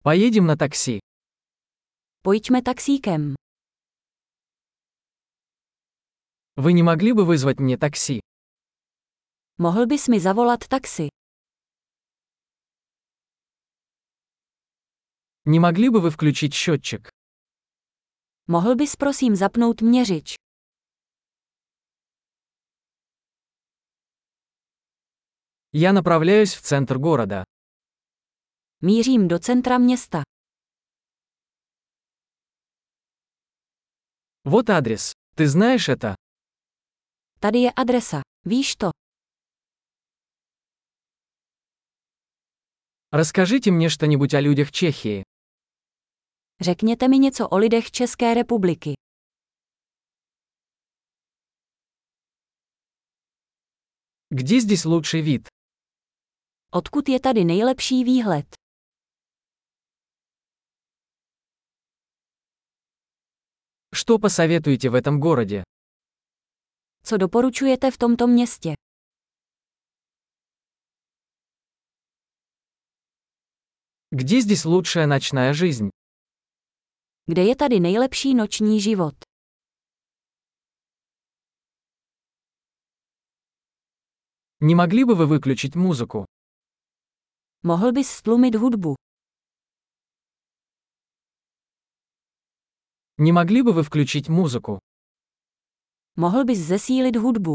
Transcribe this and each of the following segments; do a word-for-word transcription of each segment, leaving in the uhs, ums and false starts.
Поедем на такси. Pojďme taxíkem. Вы не могли бы вызвать мне такси? Mohl bys mi zavolat taxi? Не могли бы вы включить счетчик? Mohl bys prosím zapnout měřič? Я направляюсь в центр города. Mířím do centra města. Вот адрес. Ты знаешь это? Tady je adresa. Víš to? Расскажите мне что-нибудь о людях Чехии. Řekněte mi něco o lidech České republiky. Где здесь лучший вид? Odkud je tady nejlepší výhled? Что посоветуете в этом городе? Co doporučujete v tomto městě? Где здесь лучшая ночная жизнь? Kde je tady nejlepší noční život? Не могли бы вы выключить музыку? Mohl bys stlumit hudbu? Не могли бы вы включить музыку? Mohl bys zesílit hudbu?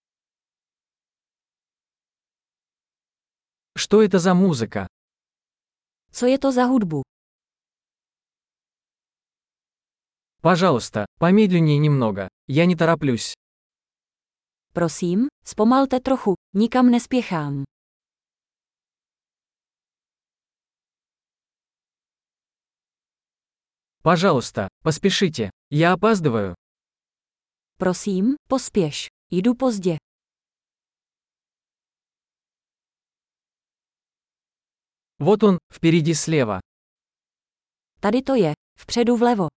Что это за музыка? Co je to za hudbu? Пожалуйста, помедленнее немного. Я не тороплюсь. Prosím, zpomalte trochu, nikam nespěchám. Пожалуйста, поспешите. Я опаздываю. Prosím, pospěš. Jdu pozdě. Вот он, впереди слева. Tady to je, vpředu vlevo.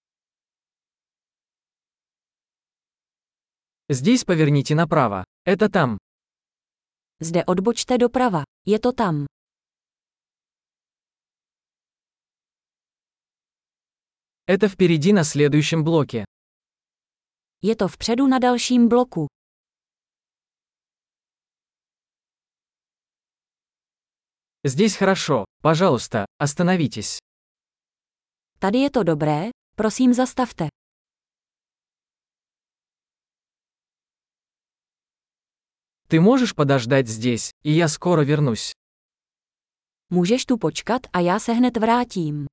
Здесь поверните направо. Это там. Zde odbočte doprava. Je to tam. Это впереди на следующем блоке. Je to vpředu na dalším bloku. Здесь хорошо. Пожалуйста, остановитесь. Tady je to dobré, prosím zastavte. Ты можешь подождать здесь, и я скоро вернусь. Můžeš tu počkat a já se hned vrátím.